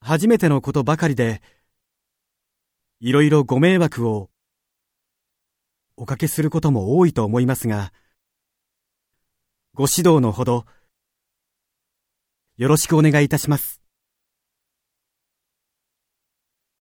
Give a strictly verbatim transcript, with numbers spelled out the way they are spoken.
初めてのことばかりで、いろいろご迷惑をおかけすることも多いと思いますが、ご指導のほどよろしくお願いいたします。